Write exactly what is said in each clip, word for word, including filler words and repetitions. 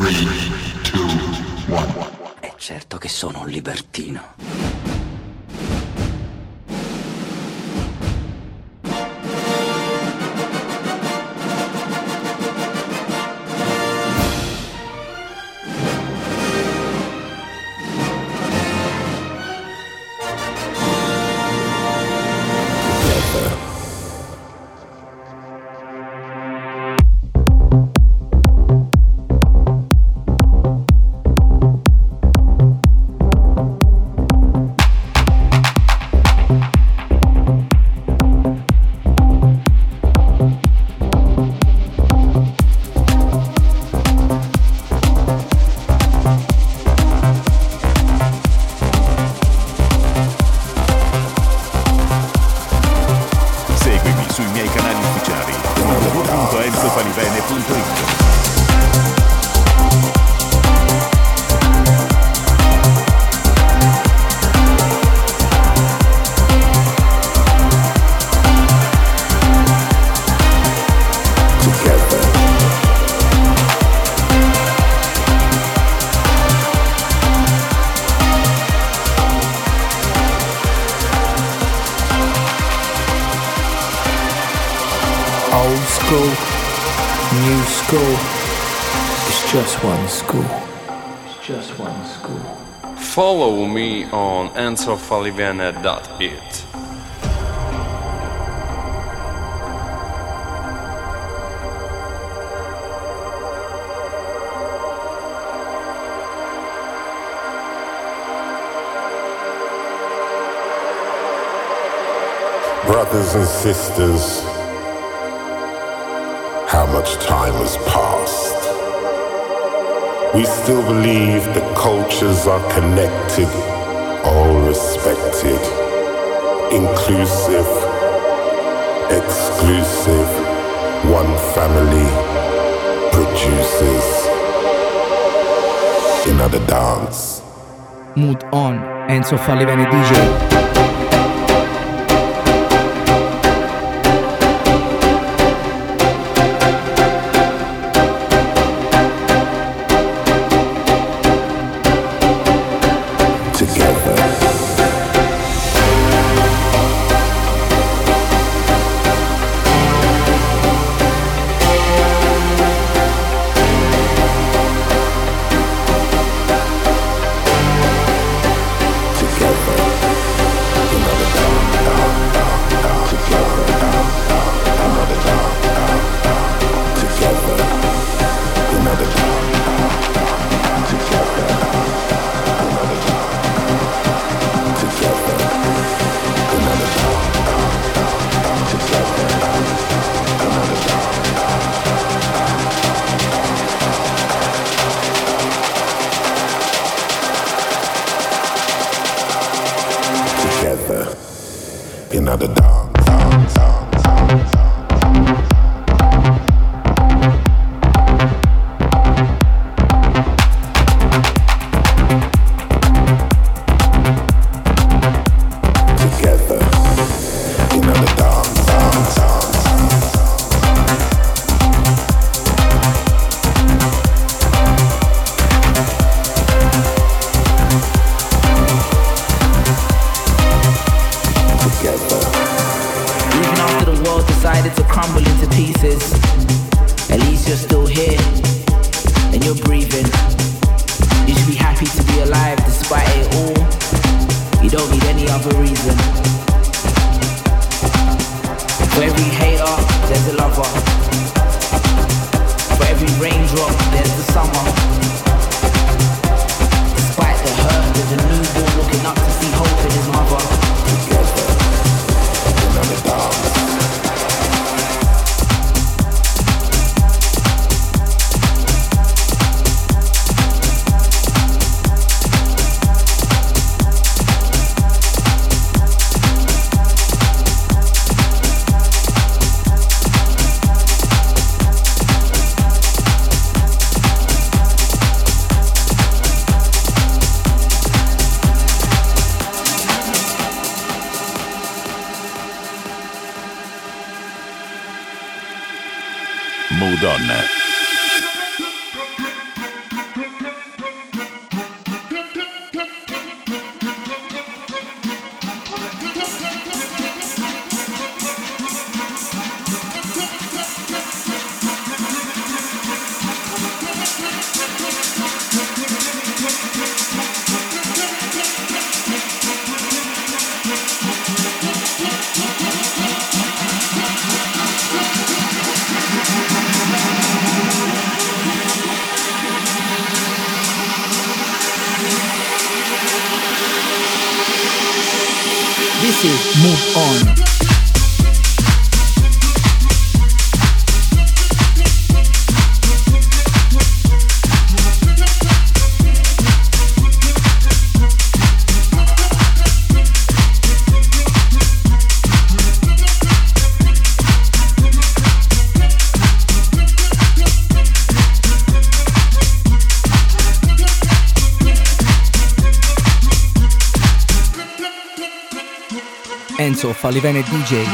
tre, due, uno. È certo che sono un libertino. Follow me on enzo falivene dot it. Brothers and sisters, how much time has passed? We still believe that cultures are connected, all respected, inclusive, exclusive, one family produces another dance. Mood on, Enzo Falivene D J. Another dance, dance, dance, dance, dance. Frequency, Move On. Enzo Falivene D J.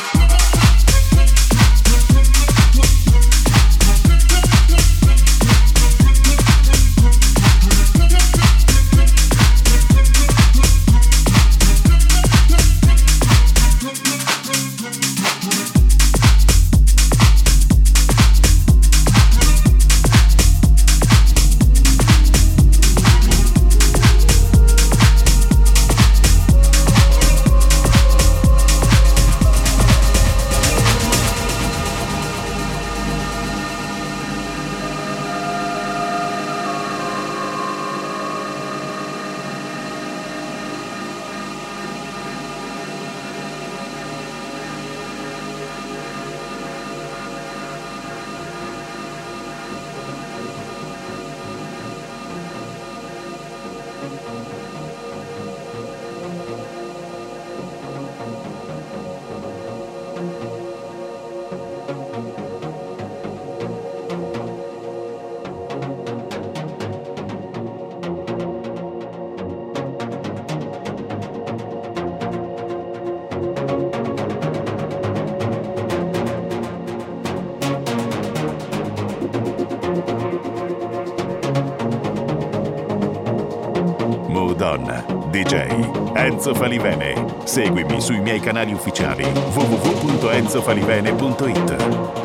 D J Enzo Falivene. Seguimi sui miei canali ufficiali w w w punto enzo falivene punto it.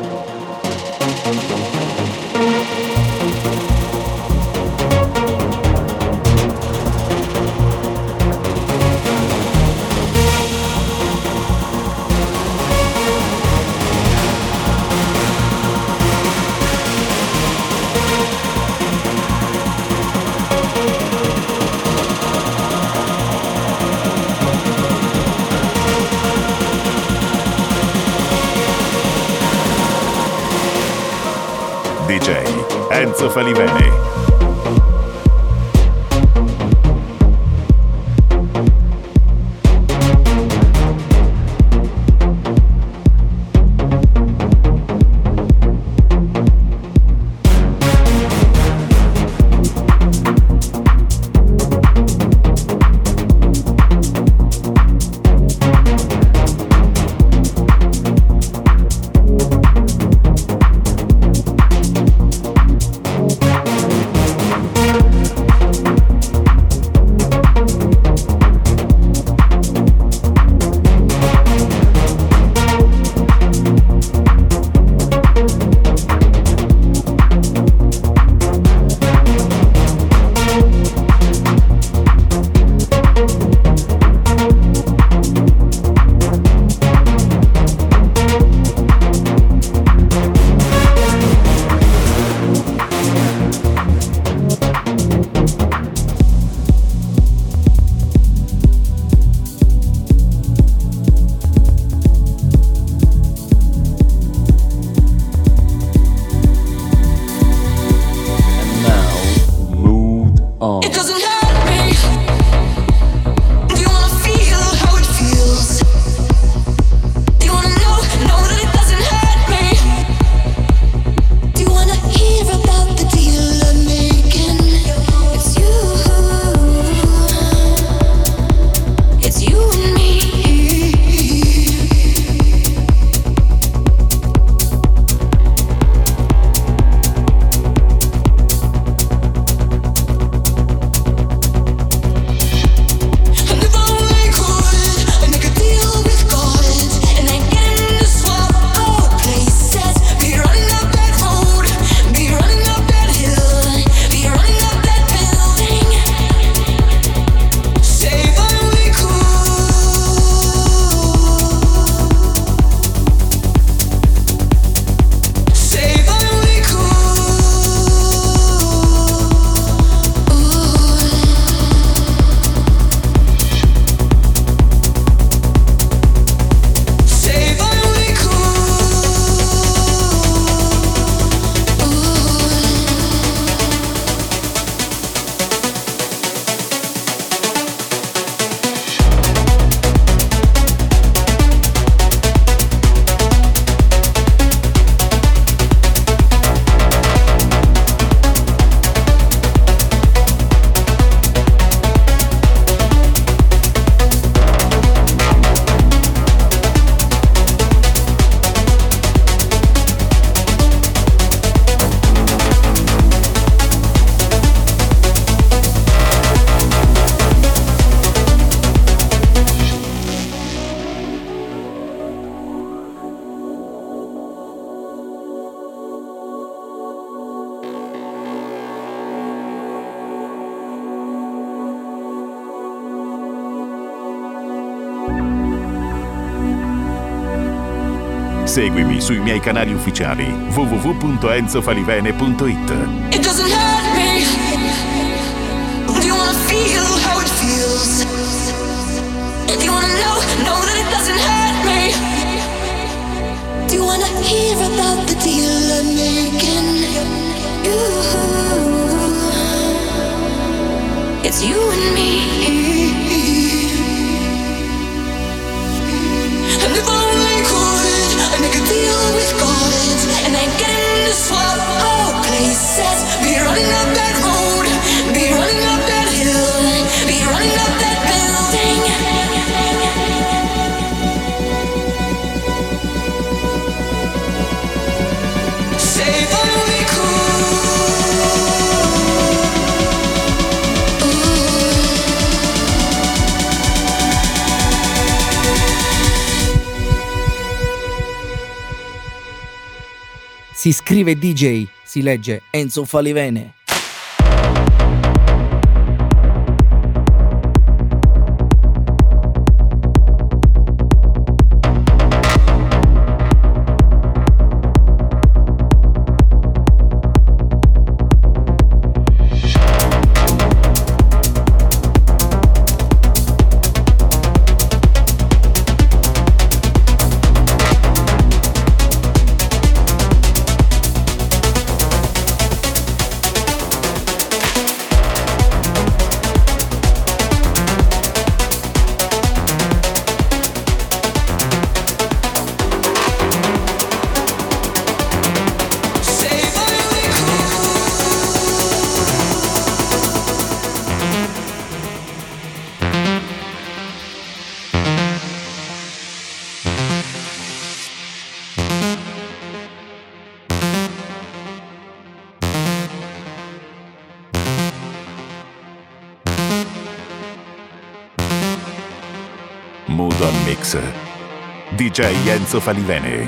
D J Enzo Falivene. Seguimi sui miei canali ufficiali w w w punto enzo falivene punto it. It doesn't hurt me. Do you wanna feel how it feels? Do you wanna know, know that it doesn't hurt me? Do you wanna hear about the deal I'm making? Ooh, it's you and me. And if I only could, I'd make a deal with God, and I'd get in to swap our places. Be running up that road, be running up that hill, be running up that building. Say if I only could. Si scrive D J, si legge Enzo Falivene. Mood on Mix. D J Enzo Falivene.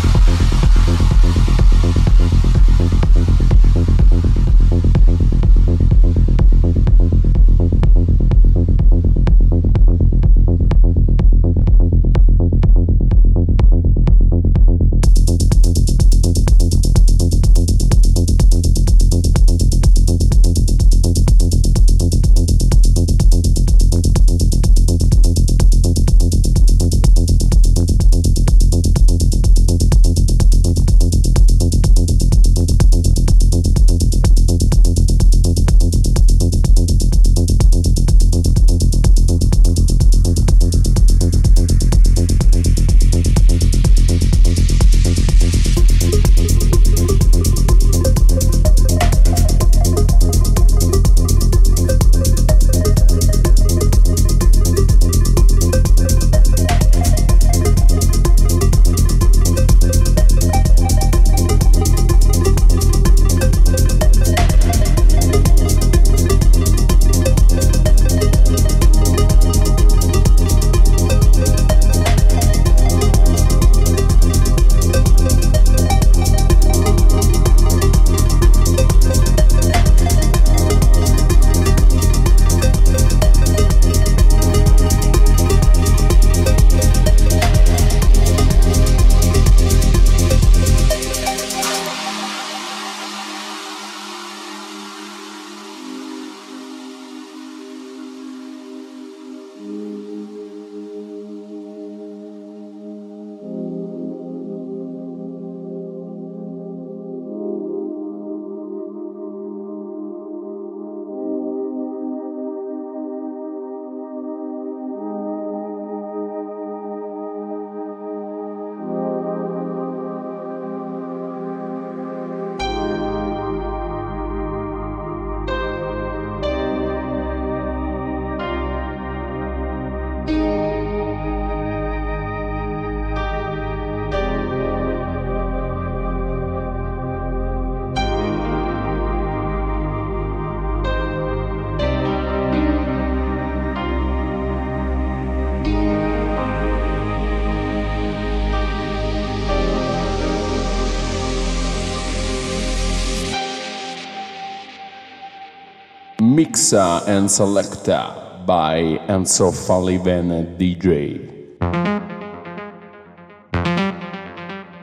Mixa and Selecta by Enzo Falivene D J.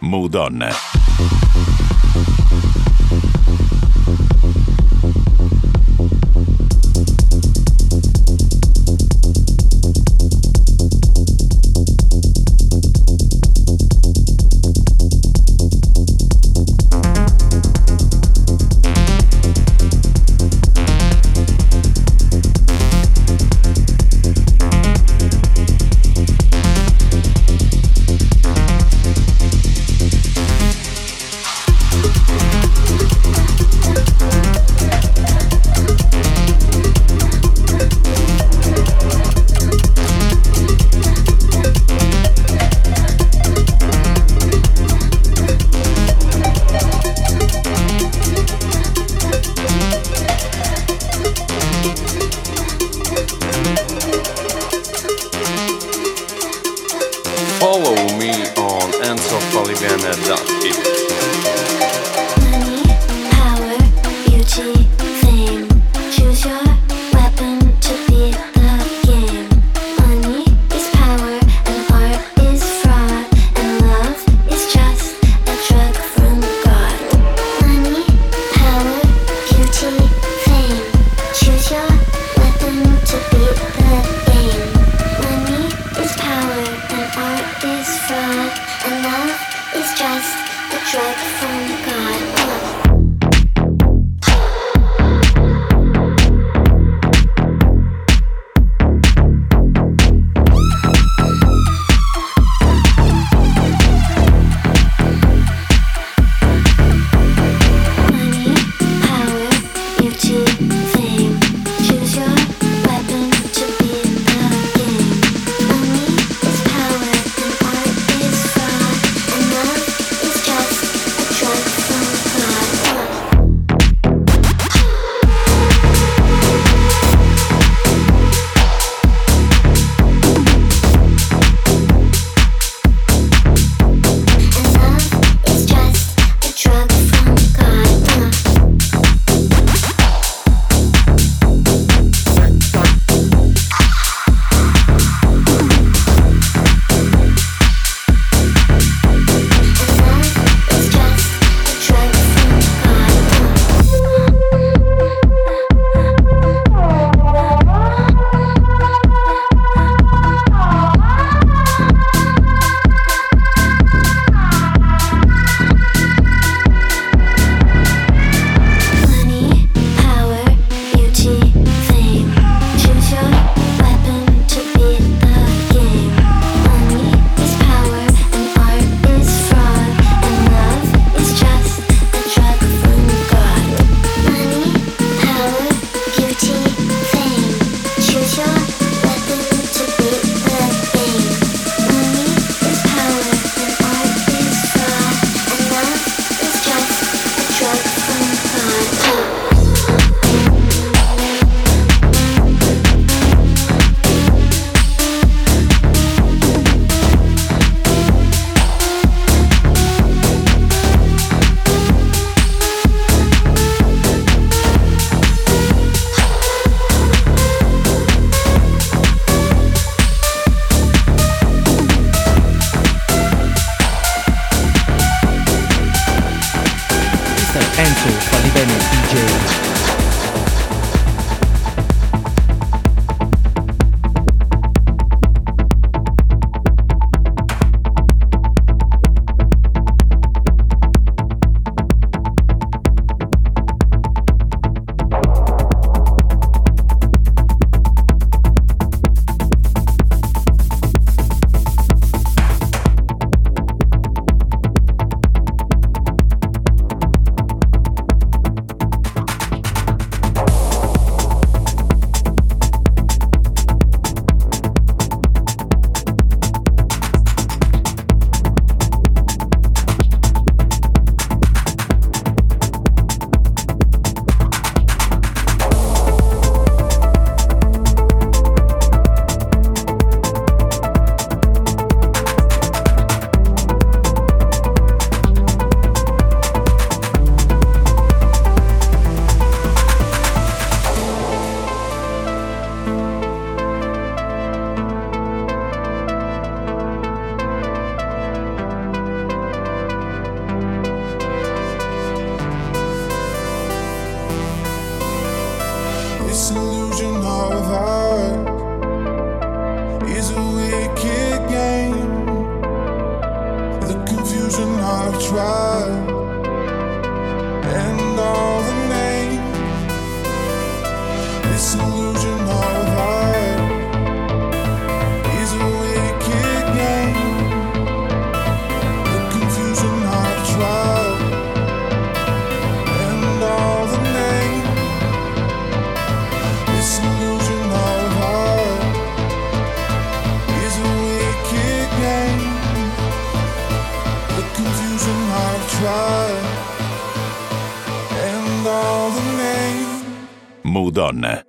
Mood On. Follow me on enzo falivene dot it. Money, power, beauty, fame. Choose your weapon to beat the game. Money is power and art is fraud, and love is just a drug from God. Money, power, beauty, fame. Choose your weapon to beat the game. Money is power and art is fraud, and love is just a drug from God. Money, power, beauty, fame. Choose your weapon to beat the game. Money is power and art is fraud, and love is just a drug from God. And love is just a drug from God. It's just a drug from Money, power, beauty, fame. Choose your weapon to beat the game. Money is power and art is fraud, and love is just a drug from God. Money, power, beauty, fame. Choose your weapon to beat the game. Money is power and art is fraud, and love is just a drug from God. mister Enzo Falivene D J. of heart is a wicked game. The confusion I've tried and all the names. This illusion of heart is a wicked game. The confusion I've tried and all the names. This illusion of heart is a wicked game. The confusion I've tried and all the names. Mood On.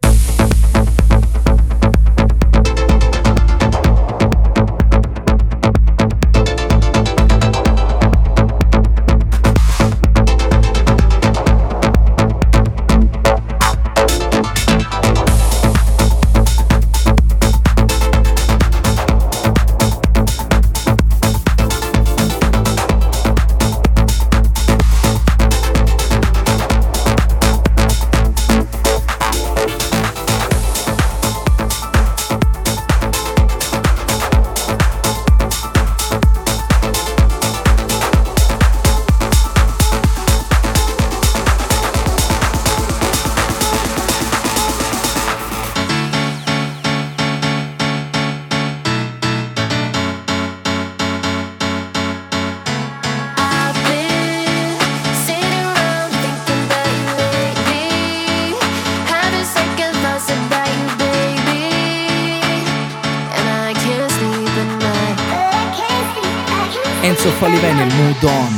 Enzo Falivene, il Mood On.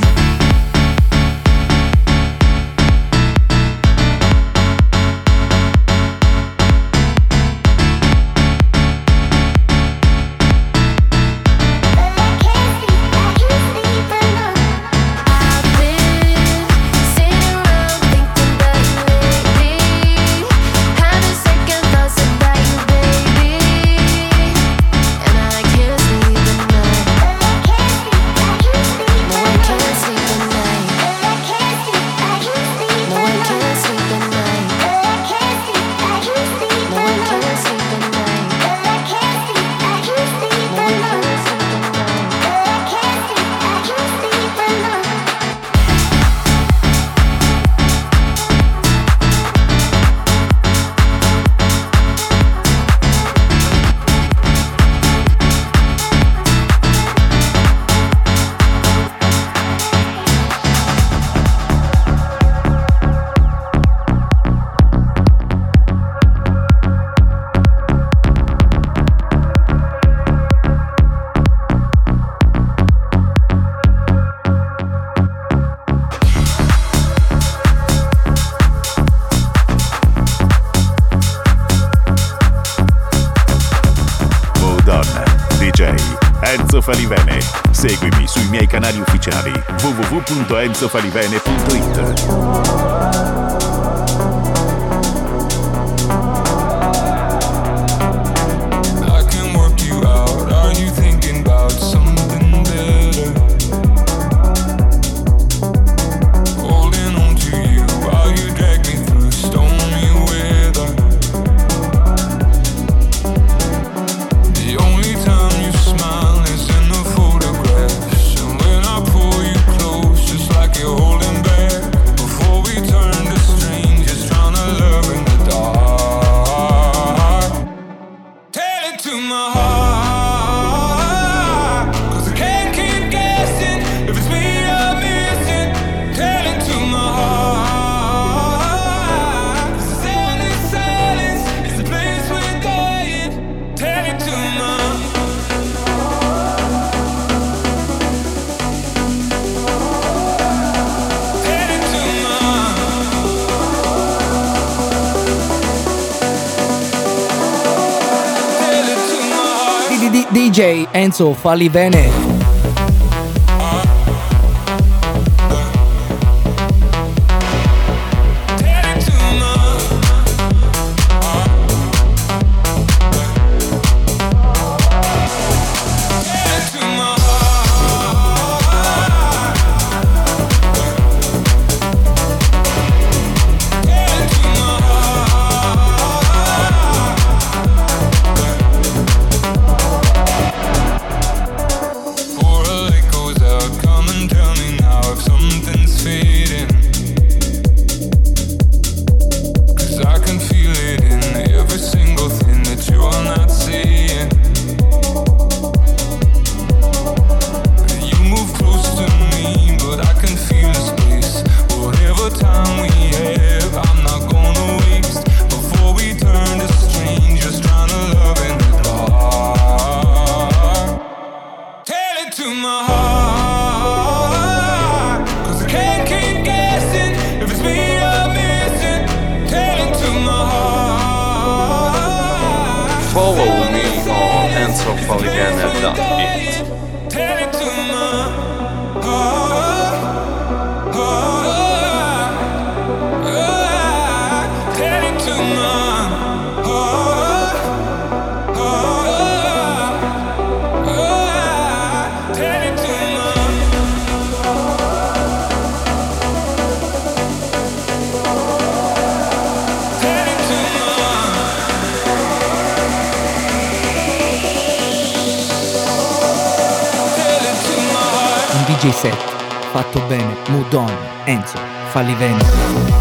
Enzo Falivene. Seguimi sui miei canali ufficiali w w w punto enzo falivene punto it. D J Enzo Falivene. Follow me on enzo falivene dot it. Tell it to my heart, heart, heart. Tell it to my heart, heart, heart. Tell it to D J set fatto bene, Mood On, Enzo Falivene.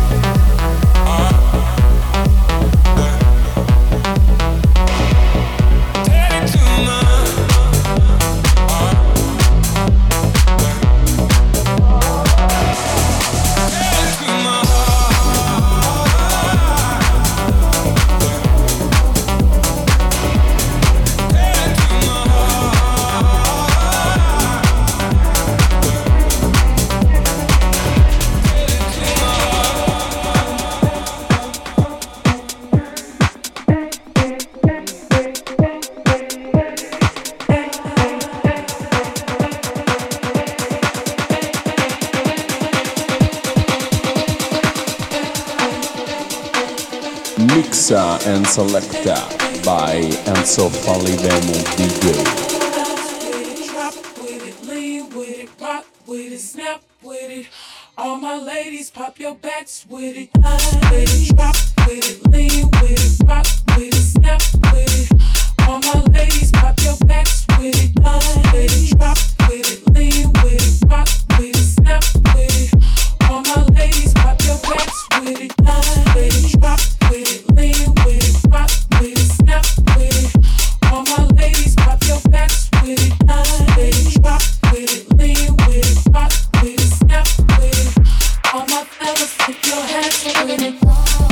Mixa and selecta by Enzo Falivene D J. Drop with it, lean with it, rock with it, snap with it. All my ladies, pop your backs with it. With it, drop with it, lean with it, rock with it, snap with it. All my ladies, pop your backs with it. With it, drop with it, lean with it, rock with it, snap with it. All my ladies, pop your backs with it. With it, drop with it, lean with it, rock with it, snap with it. All my ladies, pop your backs with it. With it, drop with it, lean with it, rock with it, snap with it. All my fellas, put your hands with it.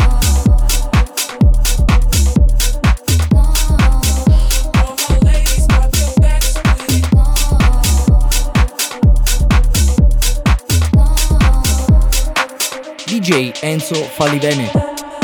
D J Enzo Falivene.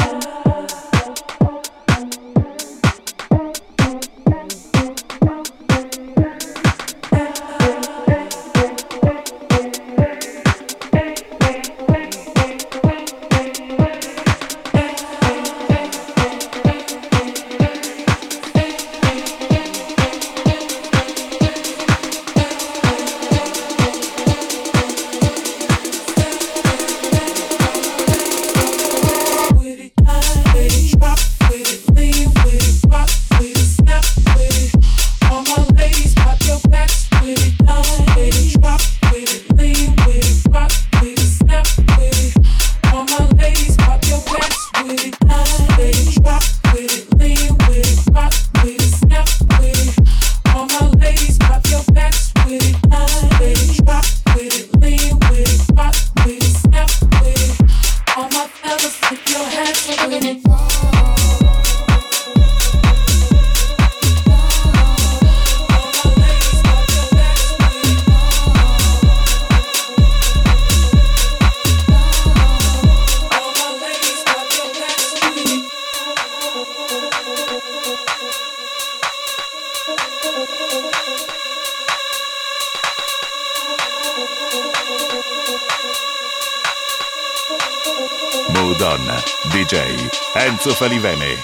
Mood On, D J Enzo Falivene.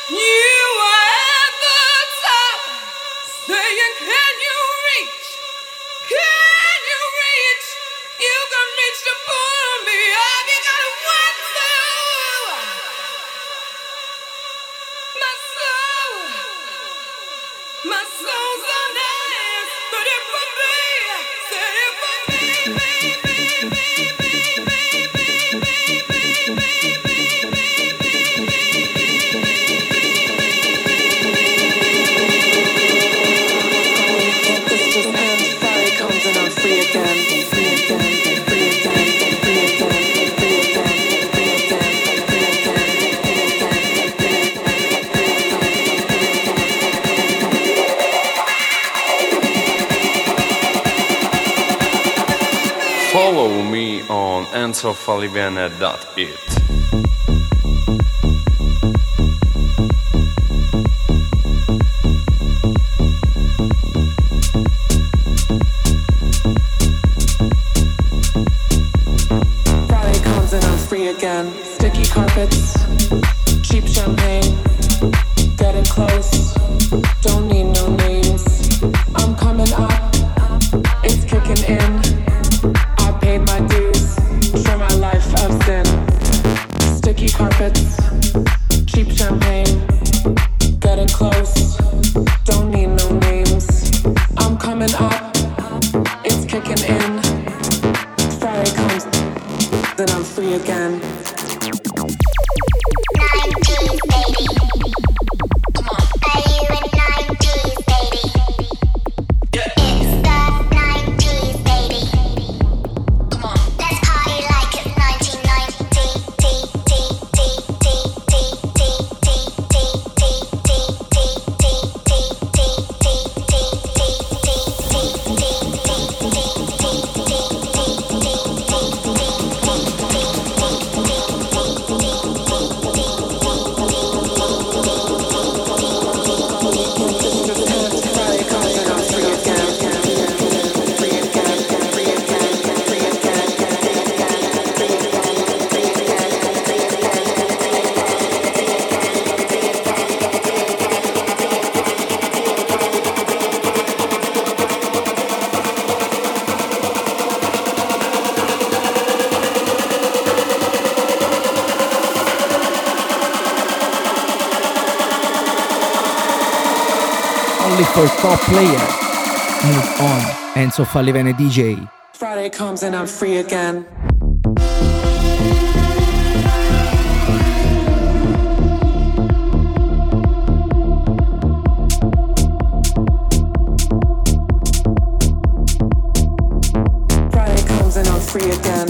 Follow me on enzo falivene dot it. close. Don't need no names. I'm coming up. It's kicking in. I paid my dues for my life of sin. Sticky carpets, cheap champagne. Getting close. Don't need no names. I'm coming up. It's kicking in. Friday comes, then I'm free again. For top player, Move On, Enzo Falivene D J. Friday comes and I'm free again. Friday comes and I'm free again.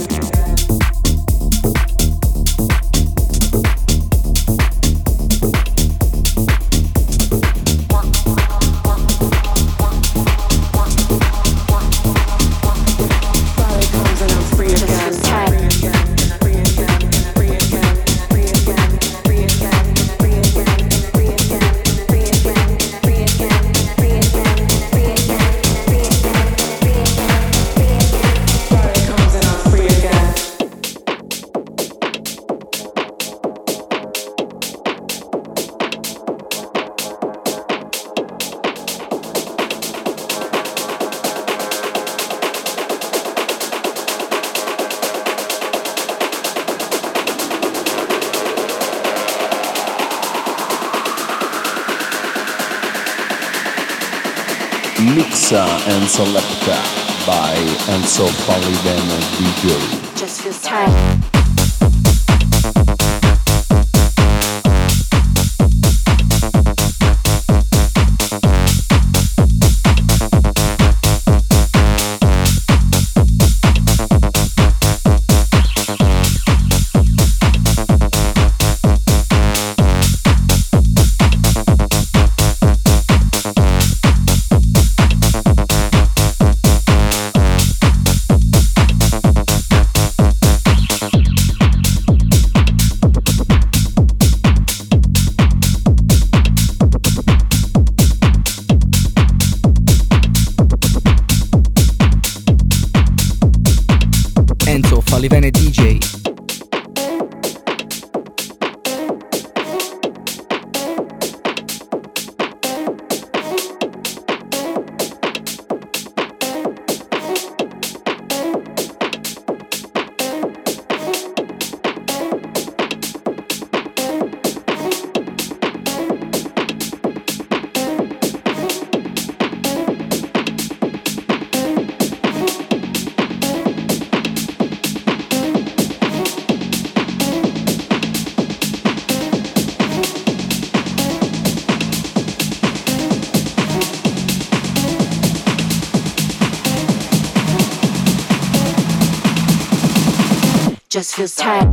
Mixa and Selecta by Enzo Falivene D J. Just feels tight. Falivene D J. Just feels tight.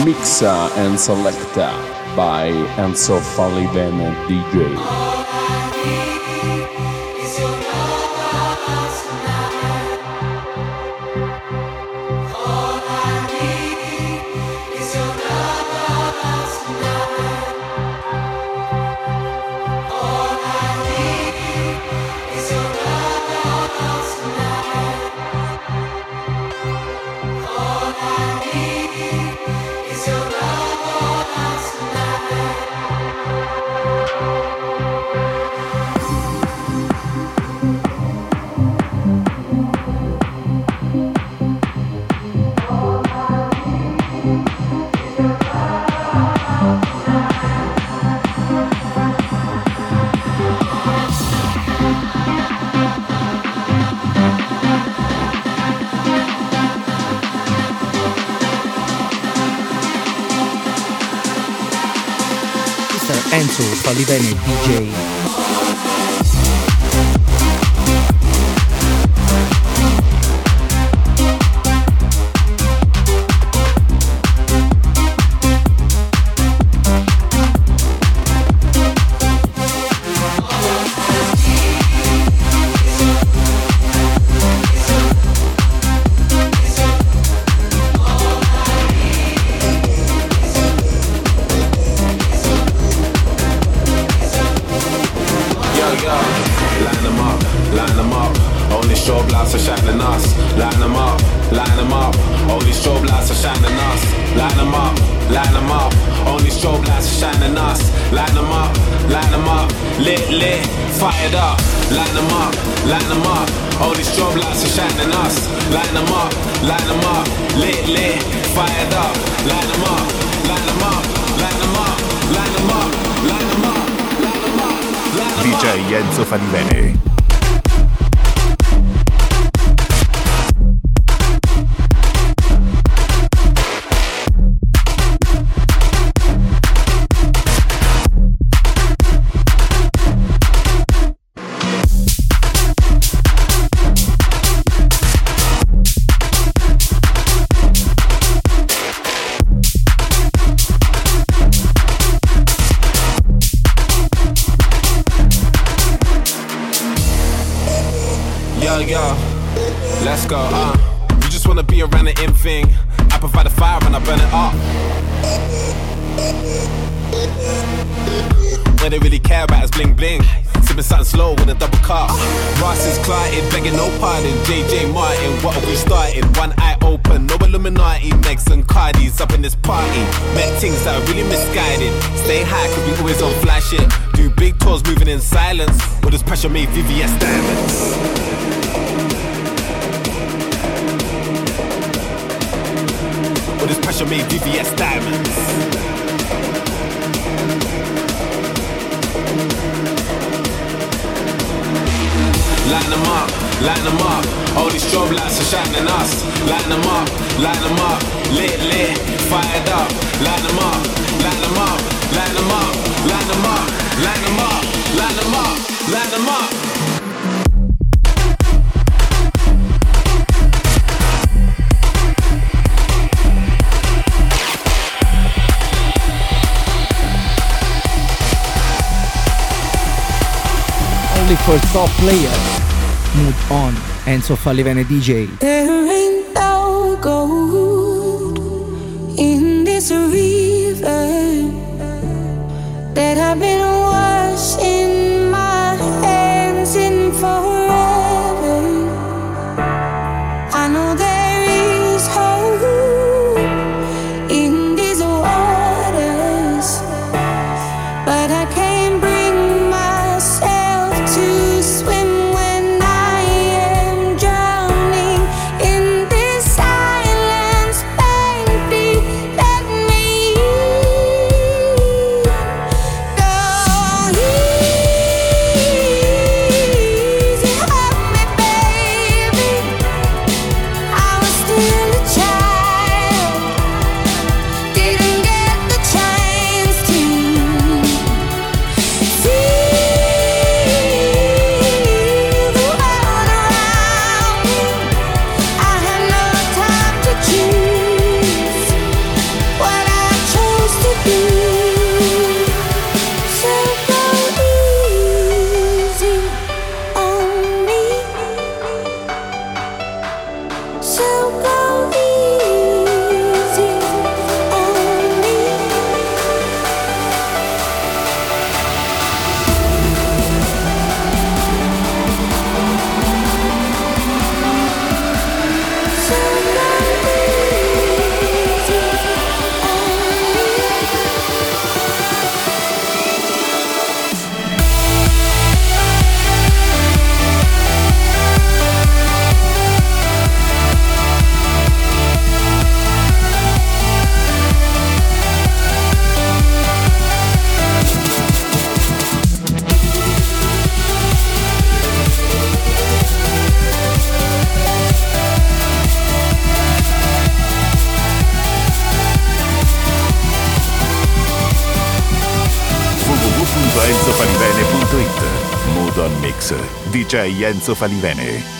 Mixa and Selecta by Enzo Falivene D J. Enzo Falivene D J. D J Enzo Falivene. Yo, yo, let's go, uh You just wanna be around the in thing. I provide the fire and I burn it up. What they really care about is bling bling. Sipping something slow with a double cup. Ross is clotted, begging no pardon. J J Martin, what have we started? One eye open, no Illuminati. Megs and Cardis up in this party. Met things that are really misguided. Stay high cause we always on flash shit. Do big tours moving in silence. All this pressure made V V S diamonds. All this pressure made V V S diamonds. Line them up, line them up. All these strobe lights are shining us. Line them up, line them up. Lit, lit, fired up. Line them up, line them up, line them up, line them up, line them up, line them up, line them up. Only for top players. Mood on Enzo Falivene D J. There ain't no gold in this river that I've been washing my hands in forever. I know there is hope in these waters, but I can't bring myself to swim when I am drowning in this silence. On Mix, D J Enzo Falivene.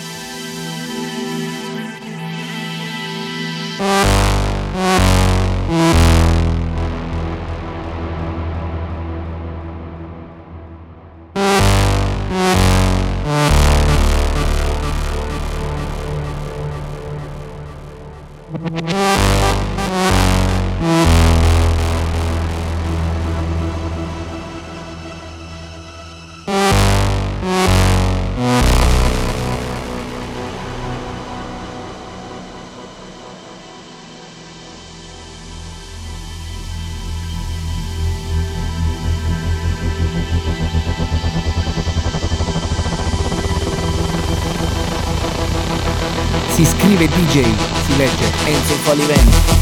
Si scrive D J, si legge Enzo Falivene.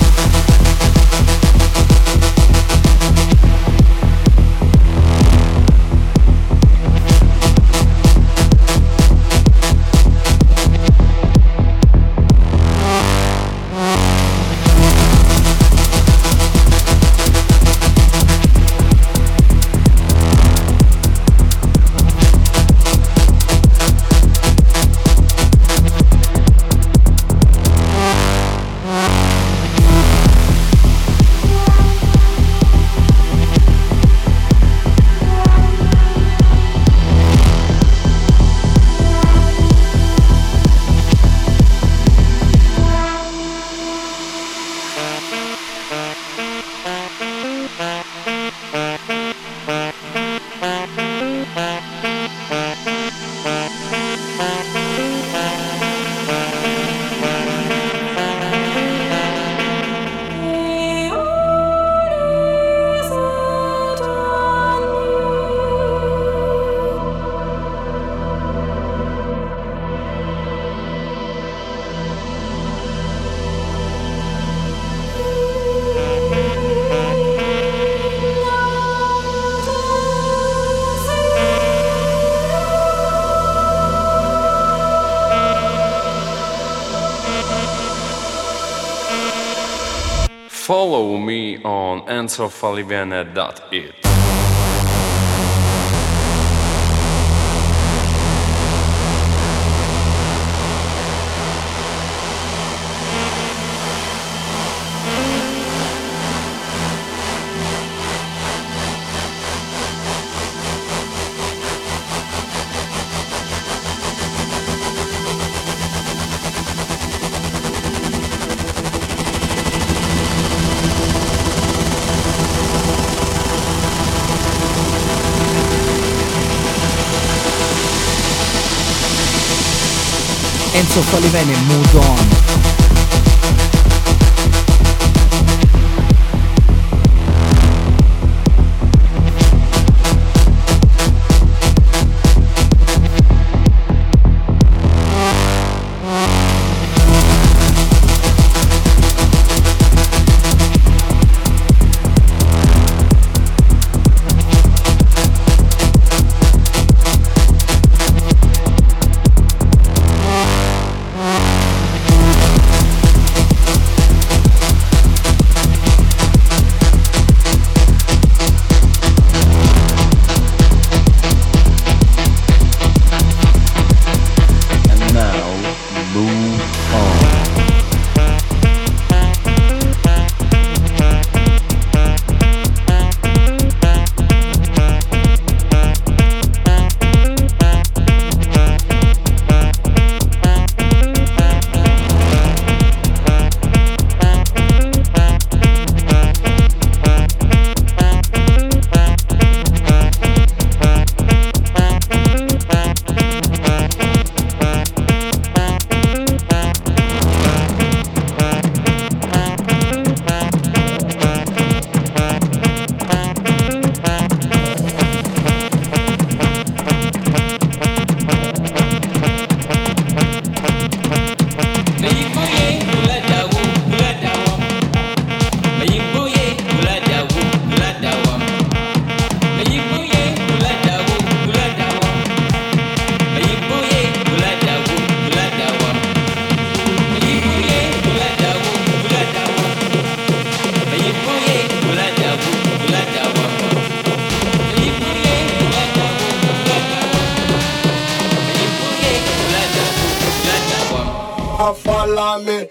Follow me on enzo falivene dot it. Enzo Falivene, Mood On. We'll be right back. follow me.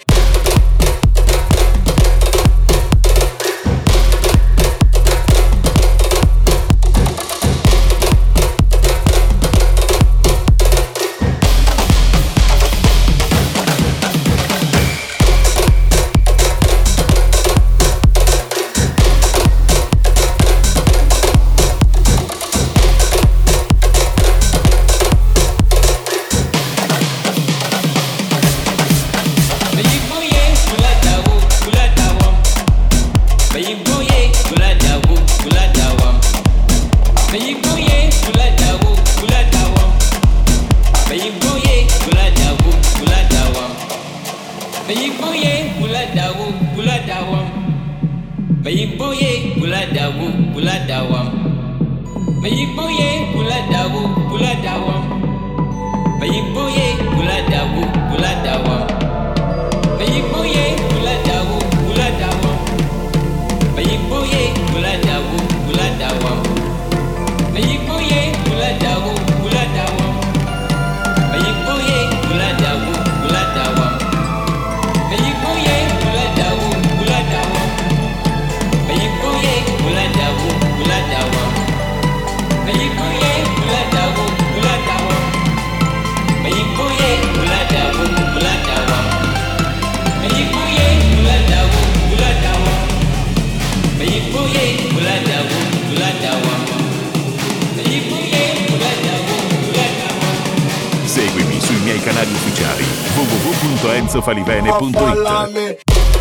Seguimi sui miei canali ufficiali w w w punto enzo falivene punto it.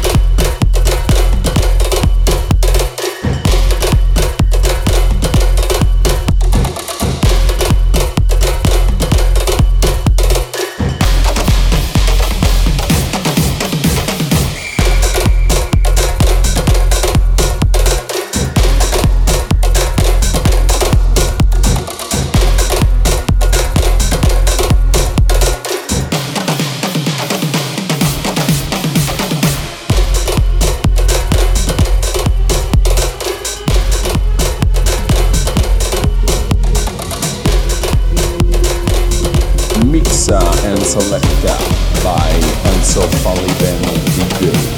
Mixa and selecta by Enzo Falivene D J.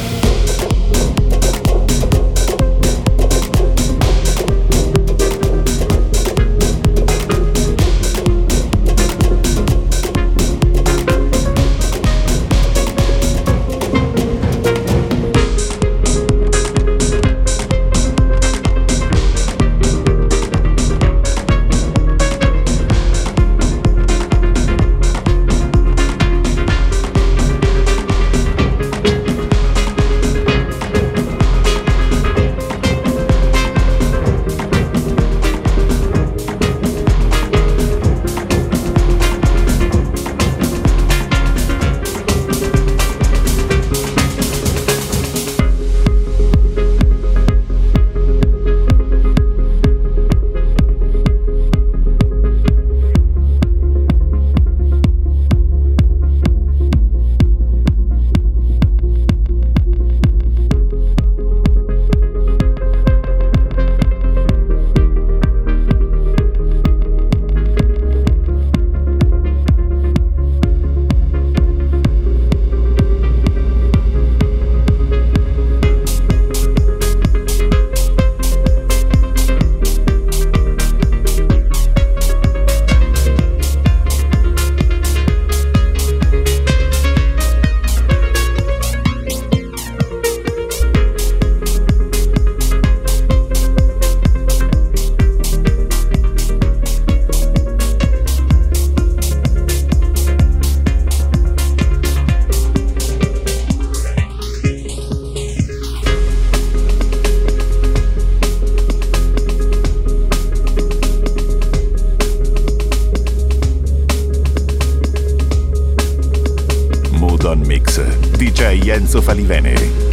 D J Enzo Falivene.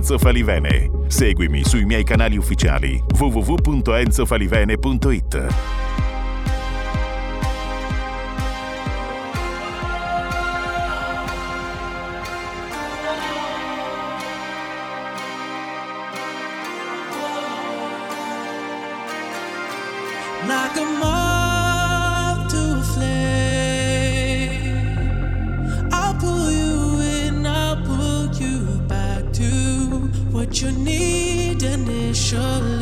Enzo Falivene. Seguimi sui miei canali ufficiali w w w punto enzo falivene punto it. Like a moth to a flame, I'll pull you in, I'll pull you back to what you need initially.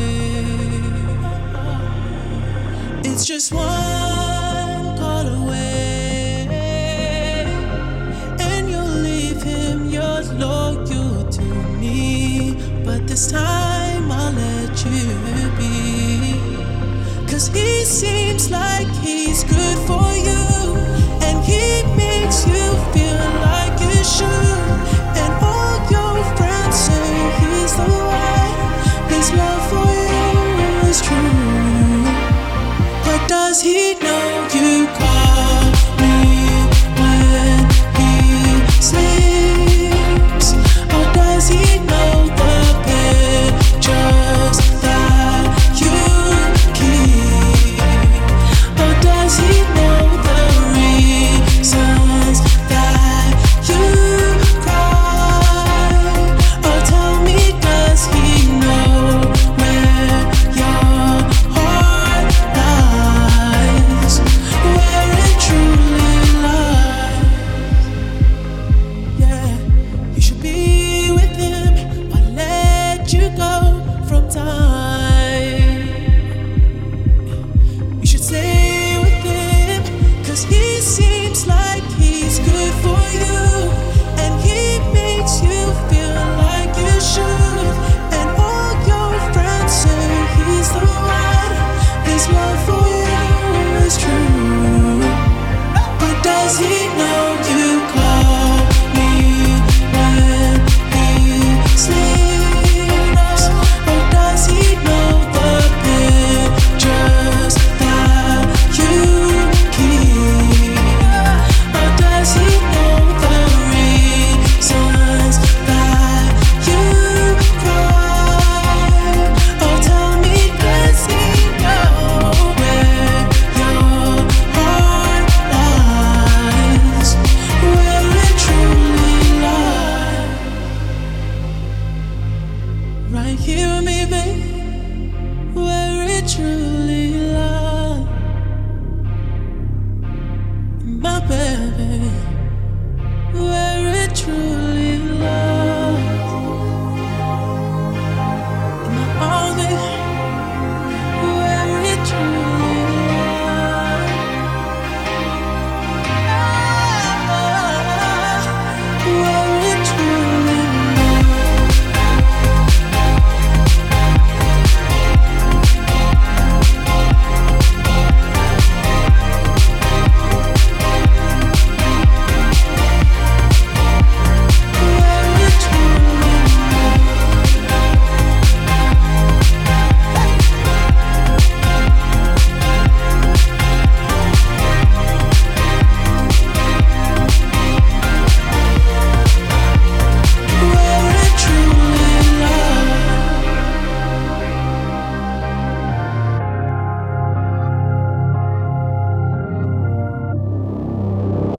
It's just one call away, and you'll leave him, you're loyal to me, but this time I'll let you be. Cause he seems like he's good for you, and he makes you feel like you should. And all your friends say he's the one, his love for you is true. But does he know you call me when he sleeps? Or does he know the pictures that you keep? Or does he know the reasons that you cry? Or tell me, does he know where your heart lies, where it truly lies? Yeah, you should be with him. I'll let you go from time. You should stay with him, cause he seems like he's good for you, and he makes you feel like you should. And all your friends say he's the one, his love for you is true. But does he know you call me when he sleeps? Or does he know the pictures that you keep? Or does he know the reasons that you cry? Or tell me, does he know where your heart lies, where it truly lies? Right here with me, babe, where it truly